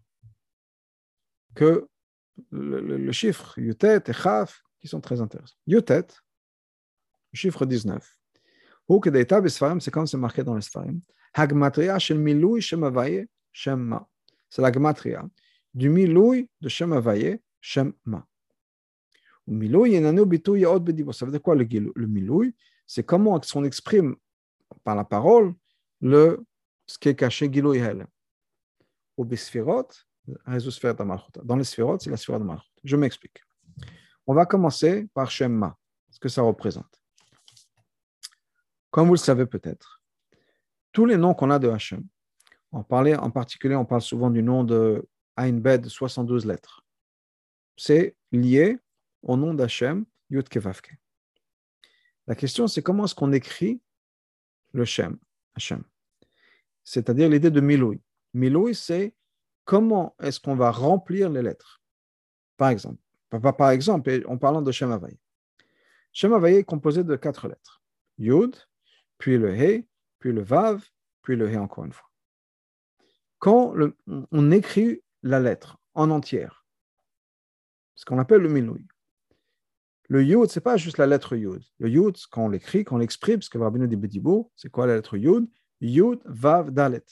que le, le, le chiffre Yutet et Chaf qui sont très intéressants. Yutet, le chiffre dix-neuf. C'est comme c'est marqué dans les Sfarim. Hagmatria shel milui Shem Havaye Shem Ma. C'est la gematria du milui de Shem Havaye Shem Ma. Milui yenanu bitu yaot bedibo. Ça veut dire quoi le, le milui? C'est comment on exprime par la parole le, ce qui est caché Gilui Hel. Au Besfirot, dans les Sphirot, c'est la Sphira de Malchut. Je m'explique. On va commencer par Shem Ma, ce que ça représente. Comme vous le savez peut-être, tous les noms qu'on a de Hachem, on parlait, en particulier, on parle souvent du nom de Ain Bed de soixante-douze lettres. C'est lié au nom d'Hachem, Yud Ke Vav Ke. La question, c'est comment est-ce qu'on écrit le Shem, Hachem, c'est-à-dire l'idée de Milui. Milui, c'est comment est-ce qu'on va remplir les lettres. Par exemple, par, par exemple, en parlant de Shem Havaye. Shem Havaye est composé de quatre lettres. Yud, puis le He, puis le Vav, puis le He encore une fois. Quand le, on écrit la lettre en entière, ce qu'on appelle le Milui. Le Yud, ce n'est pas juste la lettre Yud. Le Yud, quand on l'écrit, quand on l'exprime, parce que Rabbeinu dit Bedibo, c'est quoi la lettre Yud? Yud, Vav, Dalet.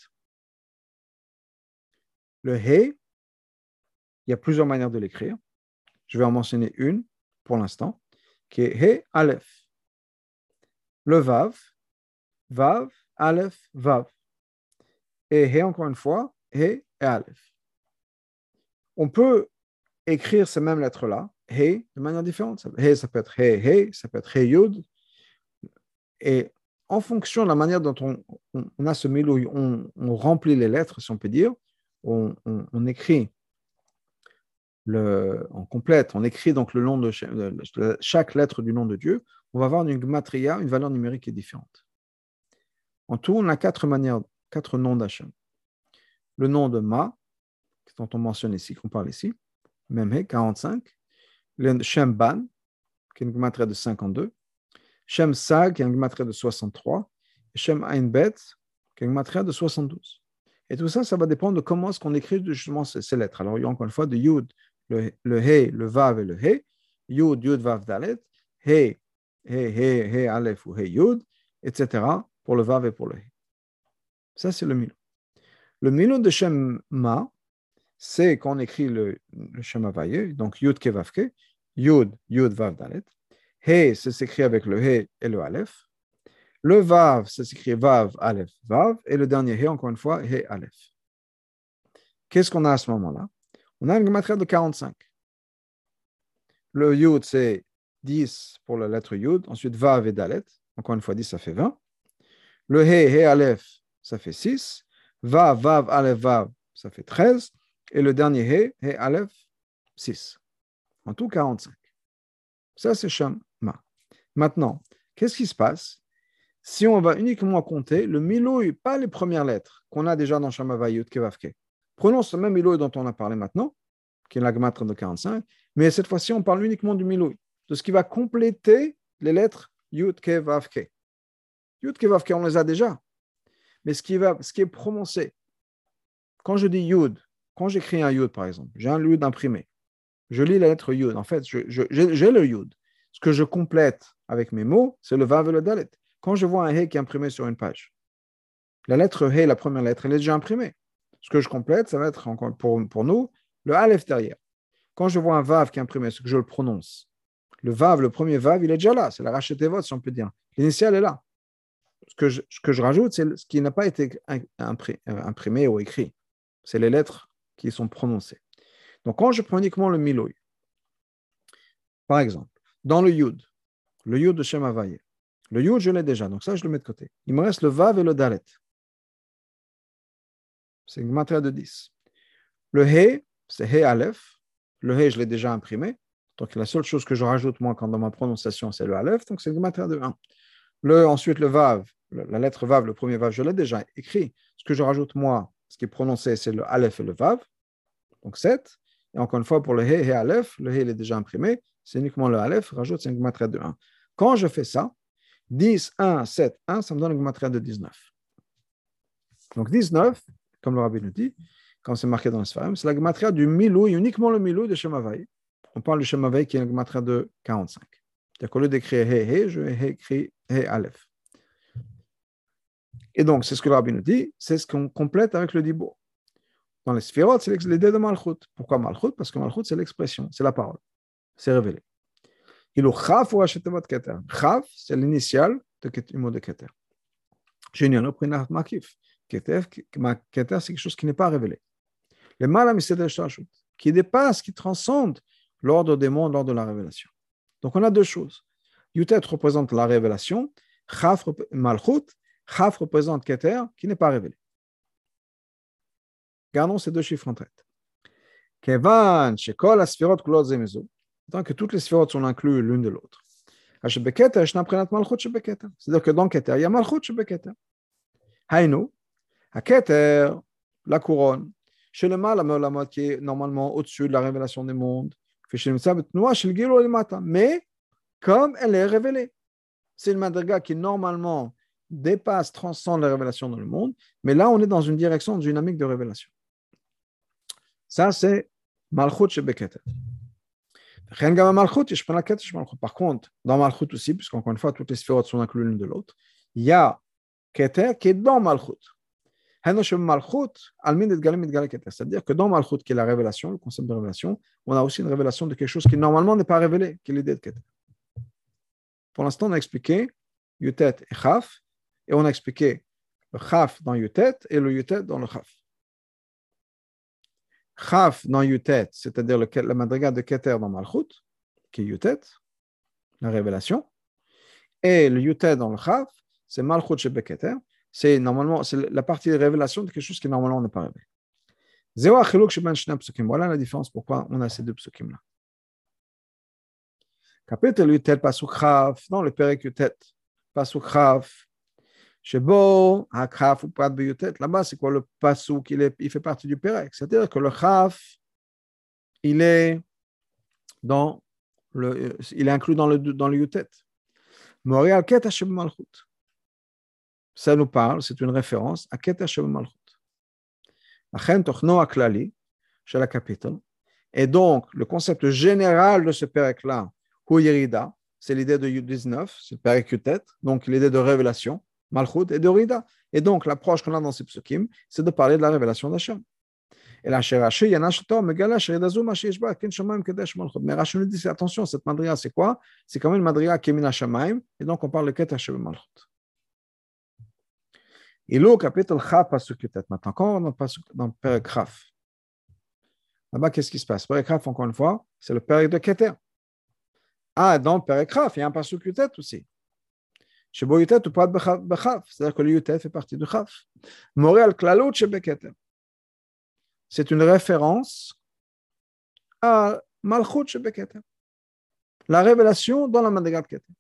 Le He, il y a plusieurs manières de l'écrire. Je vais en mentionner une pour l'instant, qui est He, Aleph. Le Vav, Vav, Aleph, Vav. Et He, encore une fois, He et Aleph. On peut écrire ces mêmes lettres-là, He, de manière différente. He, ça peut être He, He, ça peut être He, Yud. Et en fonction de la manière dont on, on, on a ce milou, on, on remplit les lettres, si on peut dire, on, on, on écrit, le, on complète, on écrit donc le nom de chaque, de chaque lettre du nom de Dieu, on va avoir une gematria, une valeur numérique qui est différente. En tout, on a quatre manières, quatre noms d'Hachem. Le nom de Ma, dont on mentionne ici, qu'on parle ici, Memhe, quarante-cinq. Le Shem Ban, qui est une gematria de cinquante-deux. Shem Sag, qui est une gematria de soixante-trois. Et Shem Ain Bet, qui est une gematria de soixante-douze. Et tout ça, ça va dépendre de comment est-ce qu'on écrit justement ces, ces lettres. Alors, il y a encore une fois de Yud, le, le He, le Vav et le He. Yud, Yud, Vav, Dalet. He, He, He, He, Aleph ou He, Yud, et cetera pour le Vav et pour le He. Ça, c'est le Milou. Le Milou de Shem Ma, c'est quand on écrit le, le Shem Havaye, donc Yud Ke Vav Ke, Yud, Yud, Vav, Dalet. He, c'est s'écrit avec le He et le Aleph. Le Vav, ça s'écrit Vav, Aleph, Vav. Et le dernier He, encore une fois, He, Aleph. Qu'est-ce qu'on a à ce moment-là? On a une gematria de quarante-cinq. Le Yud, c'est dix pour la lettre Yud. Ensuite, Vav et Dalet. Encore une fois, dix, ça fait vingt. Le He, He, Aleph, ça fait six. Vav, Vav, Aleph, Vav, ça fait treize. Et le dernier He, He, Aleph, six. En tout, quarante-cinq. Ça, c'est Shem Ma. Maintenant, qu'est-ce qui se passe si on va uniquement compter le Milou, pas les premières lettres qu'on a déjà dans Shem Havaye, Yud Ke Vav Ke. Prenons ce même Milou dont on a parlé maintenant, qui est la gematria de quarante-cinq, mais cette fois-ci, on parle uniquement du Milou, de ce qui va compléter les lettres Yud Ke Vav Ke. Yud Ke Vav Ke, on les a déjà, mais ce qui, va, ce qui est prononcé, quand je dis Yud, quand j'écris un Yud par exemple, j'ai un Yud imprimé, je lis la lettre Yud, en fait, je, je, j'ai, j'ai le Yud. Ce que je complète avec mes mots, c'est le Vav et le Dalet. Quand je vois un He qui est imprimé sur une page, la lettre He, la première lettre, elle est déjà imprimée. Ce que je complète, ça va être encore pour, pour nous le Aleph derrière. Quand je vois un Vav qui est imprimé, ce que je le prononce, le Vav, le premier Vav, il est déjà là. C'est la Rachet Tevot, si on peut dire. L'initial est là. Ce que je, ce que je rajoute, c'est ce qui n'a pas été imprimé ou écrit. C'est les lettres qui sont prononcées. Donc, quand je prends uniquement le Milou, par exemple, dans le Yud, le Yud de Shem Havaye, le Yud, je l'ai déjà, donc ça, je le mets de côté. Il me reste le Vav et le Dalet. C'est une gematria de dix. Le He, c'est He Aleph. Le He, je l'ai déjà imprimé. Donc, la seule chose que je rajoute, moi, quand dans ma prononciation, c'est le Aleph. Donc, c'est une gematria de un. Le, ensuite, le Vav, la lettre Vav, le premier Vav, je l'ai déjà écrit. Ce que je rajoute, moi, ce qui est prononcé, c'est le Aleph et le Vav. Donc, sept. Et encore une fois, pour le He, He Aleph, le He, il est déjà imprimé. C'est uniquement le Aleph, rajoute, c'est une gematria de un. Quand je fais ça, dix, un, sept, un, ça me donne une gematria de dix-neuf. Donc dix-neuf, comme le Rabbi nous dit, quand c'est marqué dans le Sfarim, c'est la gematria du Milou, uniquement le Milou de Shem Havaye. On parle du Shem Havaye qui est une gematria de quarante-cinq. C'est-à-dire qu'au lieu d'écrire He, He, je vais écrire He Aleph. Et donc, c'est ce que le rabbi nous dit, c'est ce qu'on complète avec le dibour. Dans les sphérotes, c'est l'idée de Malchut. Pourquoi Malchut? Parce que Malchut, c'est l'expression, c'est la parole, c'est révélé. Il ou Chaf ou Hachetevot Keter. Chaf, c'est l'initial du mot de Keter. Génial, au prinat Makif. Keter, Keter, c'est quelque chose qui n'est pas révélé. Le mal qui dépasse, qui transcende l'ordre des mondes lors de la révélation. Donc on a deux choses. Yutet représente la révélation, Chaf, Malchut, Chaf représente Keter, qui n'est pas révélé. Gardons ces deux chiffres en tête. Kevan, Shekol, la sphérot, Kulot, Zemezo. Tant que toutes les sphérotes sont incluses l'une de l'autre. C'est-à-dire que dans Keter, il y a Malchut chez Keter. Haïnou, à Keter, la couronne, chez le mal, la mode qui est normalement au-dessus de la révélation des mondes, mais comme elle est révélée. C'est une madriga qui normalement dépasse, transcende la révélation dans le monde, mais là on est dans une direction dynamique de révélation. Ça c'est Malchut chez Keter. Par contre, dans Malchut aussi, puisqu'encore une fois, toutes les sphérotes sont incluses l'une de l'autre, il y a Keter qui est dans Malchut. C'est-à-dire que dans Malchut, qui est la révélation, le concept de révélation, on a aussi une révélation de quelque chose qui normalement n'est pas révélé, qui est l'idée de Keter. Pour l'instant, on a expliqué Yutet et Chaf, et on a expliqué le Chaf dans Yutet et le Yutet dans le Chaf. Chaf dans Yutet, c'est-à-dire le, la madriga de Keter dans Malchut, qui est Yutet, la révélation, et le Yutet dans le Chaf, c'est Malchut chez Keter, c'est normalement c'est la partie de révélation de quelque chose qui normalement n'est pas révélé. Voilà la différence pourquoi on a ces deux psukim-là. Chapitre Yutet Pasuk Chaf, dans le Perek Yutet, Pasuk Chaf, Shebo, Hakraf ou Prat Beyutet, là-bas, c'est quoi le Pasuk? Il, est, il fait partie du Perek. C'est-à-dire que le Chaf, il est, dans le, il est inclus dans le, dans le Yutet. Montréal, Ket Hashem Malchut. Ça nous parle, c'est une référence à Ket Hashem Malchut. Achen Tochno Aklali, chez la capitale. Et donc, le concept général de ce Perek-là, Hu Yerida, c'est l'idée de dix-neuf, c'est le Perek Yutet, donc l'idée de révélation. Malchut et de Rida. Et donc, l'approche qu'on a dans ces psukim, c'est de parler de la révélation d'Hachem. Et là, chez Rashi, il y en a un Megala, chez Redazoum, Hashishba, Ken Shamaim, Kedesh Malchut. Mais Rashi nous dit, attention, cette madriga, c'est quoi? C'est quand même une madriga qui est Mina Shamaim, et donc on parle de Kedesh Malchut. Et là, au chapitre Chaf, Pasuk Yutet, maintenant, quand on est dans le Perek Chaf, là-bas, qu'est-ce qui se passe? Perek Chaf, encore une fois, c'est le Perek de Keter. Ah, dans le Perek Chaf, il y a un Pasuk Yutet aussi. Chez Yutet, ou pas de Chaf, c'est-à-dire que le Yutet fait partie du Chaf. Moréal Klalut chez Keter. C'est une référence à Malchut chez Keter. La révélation dans la madriga de Keter.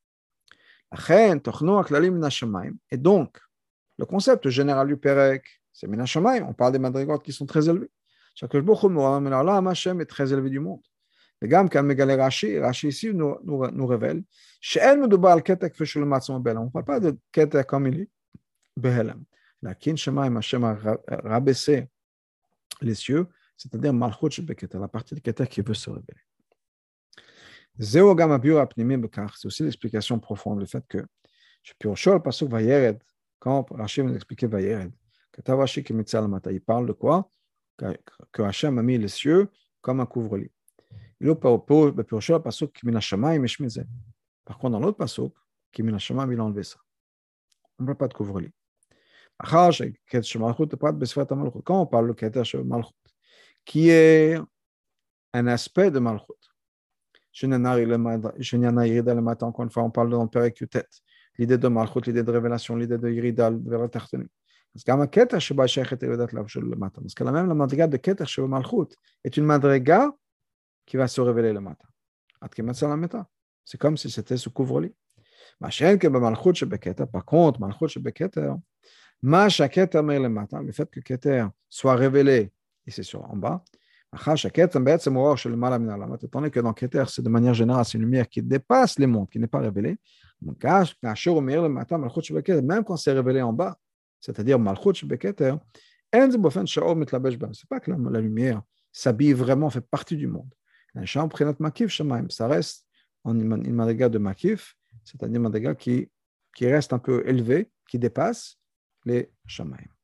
Et donc, le concept général du Perek, c'est Mina Shamayim. On parle des madrigot qui sont très élevés. Chaque jour, Hashem est très élevé du monde. Et Gam, quand Megale Rashi, Rashi ici nous, nous, nous révèle, on ne parle pas de Keter comme il est, Behelam. La Kin Shamayim, Hashem a rabaissé les cieux, c'est-à-dire Malchut chez Keter, la partie de Keter qui veut se révéler. C'est aussi l'explication profonde, le fait que quand Rachid nous expliquait Vayered, il parle de quoi? Que Hachem a mis les cieux comme un couvre-lit. Par contre, dans l'autre pasuk, il a enlevé ça. On ne parle pas de couvre-lit. Quand on parle de Keter Malchut, qui est un aspect de Malchut, encore une fois, on parle dans le Perek Yutet, l'idée de Malchut, l'idée de révélation, l'idée de Yerida vers la Tartani. Parce que la même la madriga de Keter chez Malchut est une madriga qui va se révéler le matin. C'est comme si c'était ce couvre-lit. Par contre, Malchut chez Keter, le fait que Keter soit révélé ici sur en bas, étant donné que dans Keter, c'est de manière générale, c'est une lumière qui dépasse les mondes, qui n'est pas révélée. Même quand c'est révélé en bas, c'est-à-dire Malchut chez Keter, c'est pas que la lumière s'habille vraiment, fait partie du monde. Ça reste une madriga de Makif, c'est-à-dire une madriga qui, qui reste un peu élevée, qui dépasse, les Shamayim.